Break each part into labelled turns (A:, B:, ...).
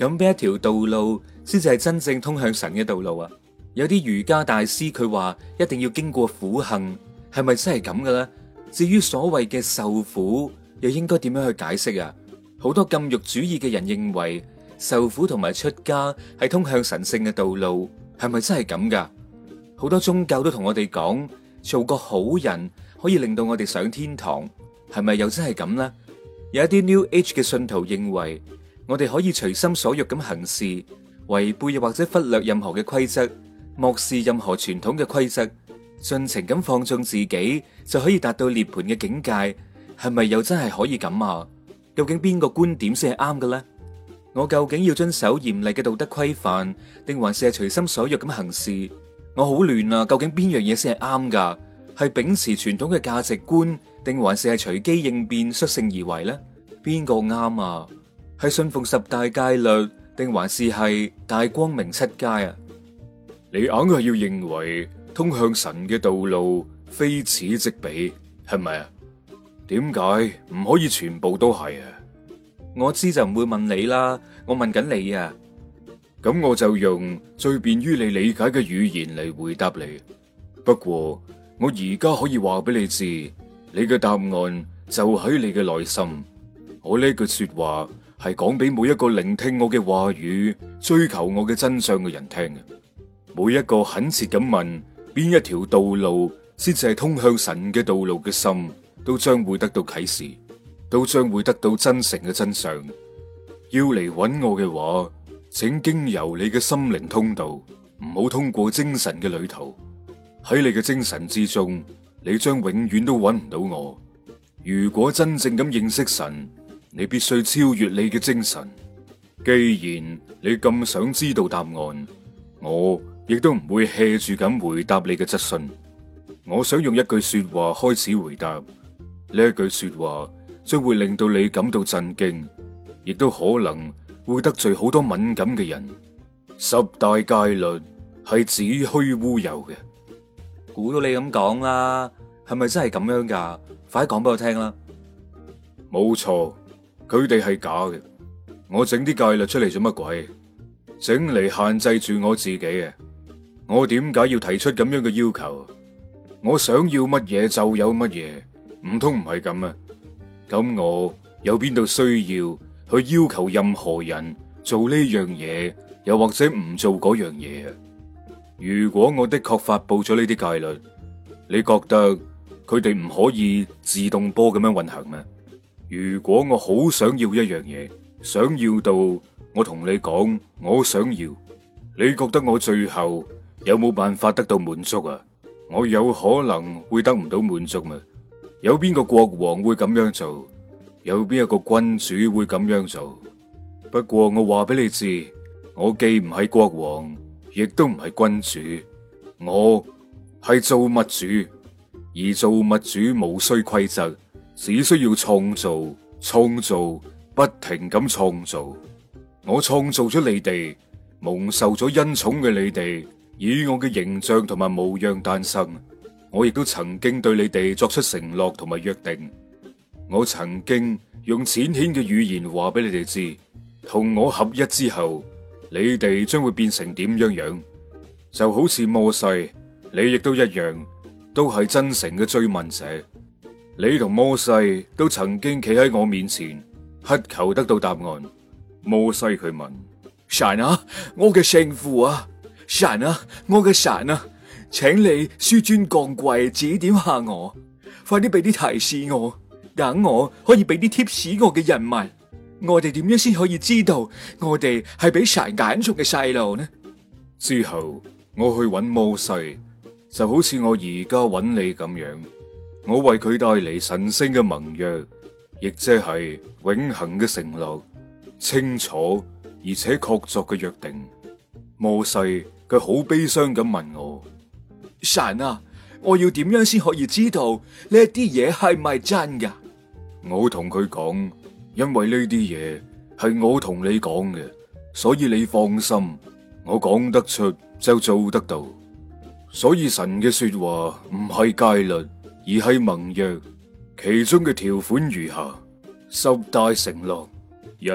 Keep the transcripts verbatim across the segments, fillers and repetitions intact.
A: 咁邊一條道路先至係真正通向神嘅道路啊？有啲瑜伽大師佢話一定要經過苦行，係咪真係咁嘅咧？至於所謂嘅受苦，又應該點樣去解釋啊？好多禁欲主義嘅人認為受苦同埋出家係通向神聖嘅道路，係咪真係咁噶？好多宗教都同我哋講，做個好人可以令到我哋上天堂，係咪又真係咁呢？有一啲 New Age 嘅信徒認為，我哋可以隨心所欲咁行事，違背又或者忽略任何嘅規則，漠視任何傳統嘅規則，盡情咁放縱自己，就可以達到涅槃嘅境界，係咪又真係可以咁啊？究竟邊個觀點先係啱嘅咧？我究竟要遵守嚴厲嘅道德規範，定還是係隨心所欲咁行事？我好亂啊！究竟邊樣嘢先係啱噶？係秉持傳統嘅價值觀，定還是係隨機應變、率性而為呢？邊個啱啊？係信奉十大戒律，定還是係大光明七階啊？
B: 你硬係要認為通向神嘅道路非此即彼，係咪啊？點解唔可以全部都係啊？
A: 我知就唔會問你啦，我問緊你啊。
B: 咁我就用最便於你理解嘅語言嚟回答你。不過我而家可以話俾你知，你嘅答案就喺你嘅內心。我呢句說話係講俾每一個聆聽我嘅話語、追求我嘅真相嘅人聽嘅。每一個懇切咁問邊一條道路先至係通向神嘅道路嘅心，都將會得到啟示，都將會得到真誠嘅真相。要嚟揾我嘅話，請經由你嘅心靈通道，唔好通過精神嘅旅途。喺你嘅精神之中，你將永遠都揾唔到我。如果真正咁認識神，你必須超越你嘅精神。既然你咁想知道答案，我亦都唔會 hea 住咁回答你嘅質詢。我想用一句說話開始回答。呢一句說話將會令到你感到震驚，亦都可能會得罪好多敏感嘅人。十大戒律係子虛烏有嘅。
A: 估到你咁講啦，係咪真係咁樣噶？快啲講俾我聽啦！
B: 冇錯，佢哋係假嘅。我整啲戒律出嚟做乜鬼？整嚟限制住我自己嘅。我點解要提出咁樣嘅要求？我想要乜嘢就有乜嘢，唔通唔係咁啊？咁我有邊度需要去要求任何人做呢樣嘢，又或者唔做嗰樣嘢啊？如果我的確發佈咗呢啲戒律，你覺得佢哋唔可以自動波咁樣運行咩？如果我好想要一樣嘢，想要到我同你講我想要，你覺得我最後有冇辦法得到滿足啊？我有可能會得唔到滿足咩？有邊個國王會咁樣做？有邊一個君主會咁樣做？不過我話俾你知，我既唔係國王，亦都唔係君主，我係造物主。而造物主無需規則，只需要創造、創造，不停咁創造。我創造咗你哋，蒙受咗恩寵嘅你哋，以我嘅形象同埋模樣誕生。我亦都曾經對你哋作出承諾同埋約定。我曾經用淺顯嘅語言話俾你哋知，同我合一之後，你哋將會變成點樣樣。就好似摩西，你亦都一樣。都係真誠嘅追問者，你同摩西都曾經企喺我面前，乞求得到答案。摩西佢問：神啊，我嘅聖父啊，神啊，我嘅神啊，請你紆尊降貴，指點下我，快啲俾啲提示我，等我可以俾啲貼士我嘅人民。我哋點樣先可以知道我哋係俾神揀中嘅細路呢？之後我去揾摩西。就好似我而家揾你咁樣，我為佢帶嚟神聖嘅盟約，亦即係永恆嘅承諾，清楚而且確鑿嘅約定。摩西佢好悲傷咁問我：神啊，我要點樣先可以知道呢一啲嘢係咪真噶？我同佢講，因為呢啲嘢係我同你講嘅，所以你放心，我講得出就做得到。所以神嘅說話唔係戒律，而係盟約，其中嘅條款如下：十大承諾：一，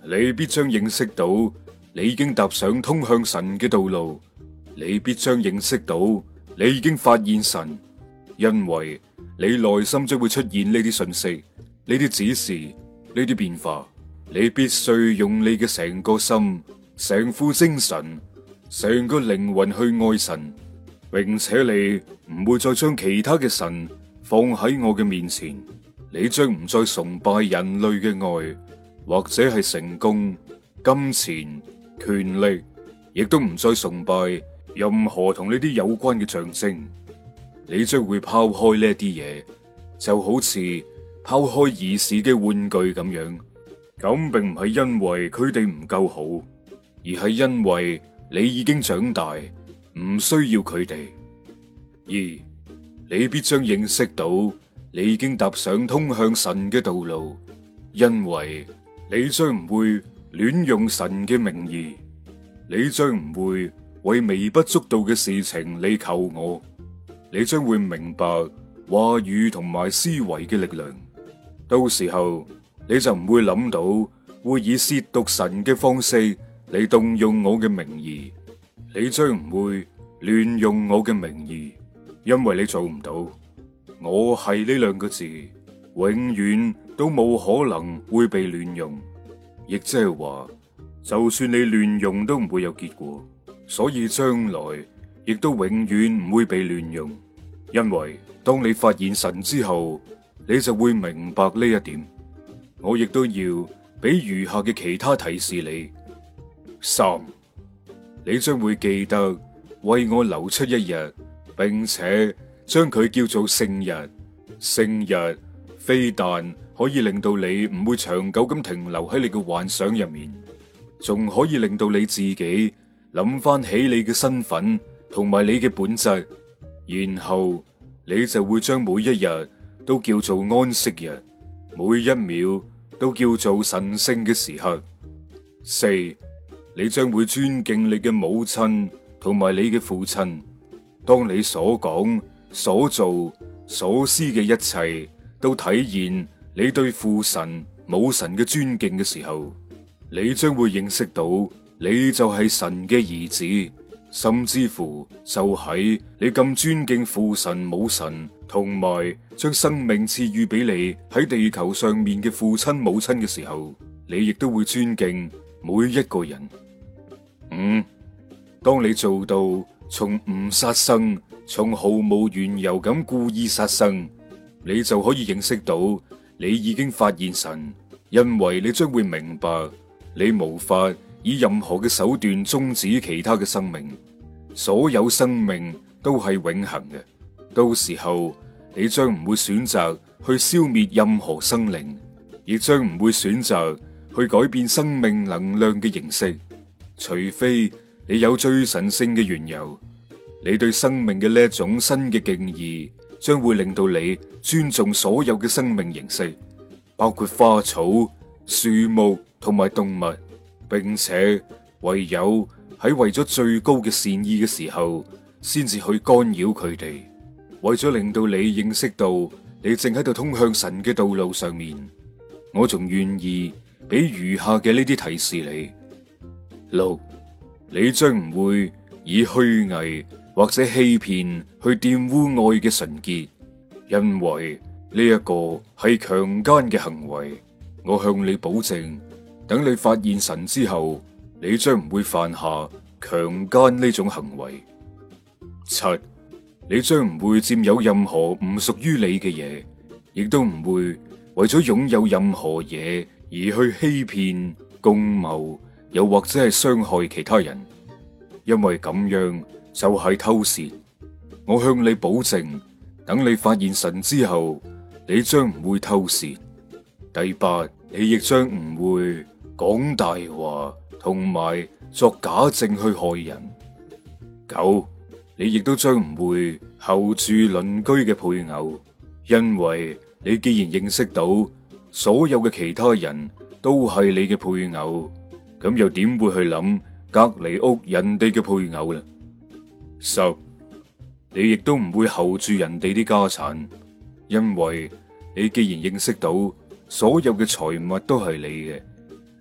B: 你必將認識到你已經踏上通向神嘅道路，你必將認識到你已經發現神，因為你內心將會出現呢啲信息、呢啲指示、呢啲變化。你必須用你嘅成個心、成副精神、成個靈魂去愛神，並且你唔會再將其他嘅神放喺我嘅面前。你將唔再崇拜人類嘅愛，或者係成功、金錢、權力，亦都唔再崇拜任何同呢啲有關嘅象徵。你將會拋開呢啲嘢，就好似拋開兒時嘅玩具咁樣。咁並唔係因為佢哋唔夠好，而係因為你已經長大，唔需要佢哋。二，你必將認識到你已經踏上通向神嘅道路，因為你將唔會亂用神嘅名義，你將唔會為微不足道嘅事情嚟求我，你將會明白話語同埋思維嘅力量。到時候你就唔會諗到會以褻瀆神嘅方式嚟動用我嘅名義，你將唔會亂用我嘅名義，因為你做唔到。我係呢兩個字，永遠都冇可能會被亂用，亦即係話，就算你亂用都唔會有結果，所以將來亦都永遠唔會被亂用，因為當你發現神之後，你就會明白呢一點。我亦都要俾餘下嘅其他提示你。三，你將會記得為我留出一日，並且將佢叫做聖日。聖日非但可以令到你唔會長久咁停留喺你嘅幻想入面，仲可以令到你自己諗翻起你嘅身份同埋你嘅本質，然後你就會將每一日都叫做安息日，每一秒都叫做神聖嘅時刻。四，你將會尊敬你嘅母親同埋你嘅父親。當你所講、所做、所思嘅一切都體現你對父神、母神嘅尊敬嘅時候，你將會認識到你就係神嘅兒子，甚至乎就喺你咁尊敬父神、母神，同埋將生命賜予俾你喺地球上面嘅父親母親嘅時候，你亦都會尊敬每一個人。五，當你做到從唔殺生，從毫無緣由咁故意殺生，你就可以認識到你已經發現神，因為你將會明白你無法以任何嘅手段終止其他嘅生命，所有生命都係永恆嘅。到時候你將唔會選擇去消滅任何生靈，亦將唔會選擇去改變生命能量嘅形式，除非你有最神聖嘅緣由。你對生命嘅呢一種新嘅敬意，將會令到你尊重所有嘅生命形式，包括花草、樹木同埋動物，並且唯有喺為咗最高嘅善意嘅時候，先至去干擾佢哋。為咗令到你認識到你正喺度通向神嘅道路上面，我仲願意俾餘下嘅呢啲提示你。六，你將唔會以虛偽或者欺騙去玷污愛嘅純潔，因為呢一個係強姦嘅行為。我向你保證，等你發現神之後，你將唔會犯下強姦呢種行為。七，你將唔會佔有任何唔屬於你嘅嘢，亦都唔會為咗擁有任何嘢而去欺騙、共謀，又或者係傷害其他人，因為咁樣就係偷竊。我向你保證，等你發現神之後，你將唔會偷竊。第八，你亦將唔會講大話，同埋作假證去害人。九，你亦都將唔會候住鄰居嘅配偶，因為你既然認識到所有嘅其他人都係你嘅配偶，咁又點會去諗隔籬屋人哋嘅配偶呢？十，你亦都唔會候住人哋啲家產，因為你既然認識到所有嘅財物都係你嘅，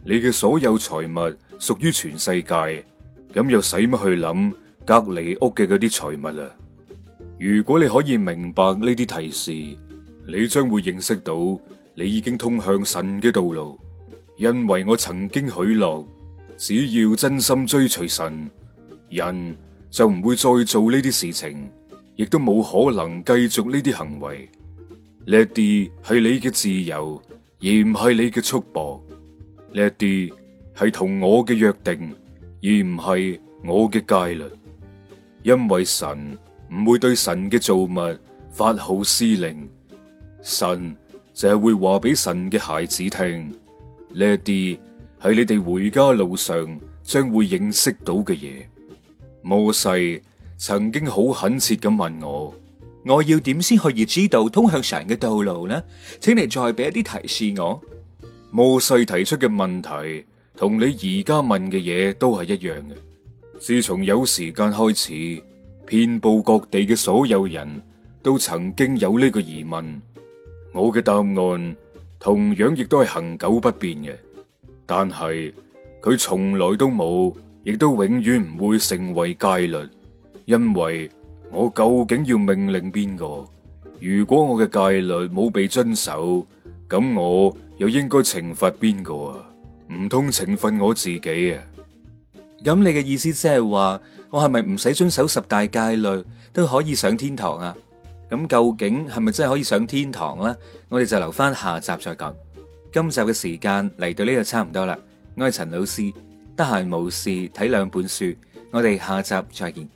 B: 你嘅所有財物屬於全世界，咁又使乜去諗隔離屋嘅嗰啲財物啊？如果你可以明白呢啲提示，你將會認識到你已經通向神嘅道路，因為我曾經許諾，只要真心追隨神，人就唔會再做呢啲事情，亦都冇可能繼續呢啲行為。呢一啲係你嘅自由，而唔係你嘅束縛。呢一啲係同我嘅約定，而唔係我嘅戒律。因為神唔會對神嘅造物發號施令，神就係會話俾神嘅孩子聽。呢一啲係你哋回家路上將會認識到嘅嘢。摩西曾經好懇切咁問我，
A: 我要點先可以知道通向神嘅道路呢？請你再俾一啲提示我。
B: 摩西提出嘅問題同你而家問嘅嘢都係一樣嘅。自從有時間開始，遍佈各地嘅所有人都曾經有呢個疑問。我嘅答案同樣亦都係恆久不變嘅，但係佢從來都冇，亦都永遠唔會成為戒律。因為我究竟要命令邊個？如果我嘅戒律冇被遵守，咁我又應該懲罰邊個啊？唔通懲罰我自己啊？
A: 咁你嘅意思即係話，我係咪唔使遵守十大戒律都可以上天堂啊？咁究竟係咪真係可以上天堂呢？我哋就留翻下集再講。今集嘅時間嚟到呢度差唔多啦。我係陳老師，得閒無事睇兩本書，我哋下集再見。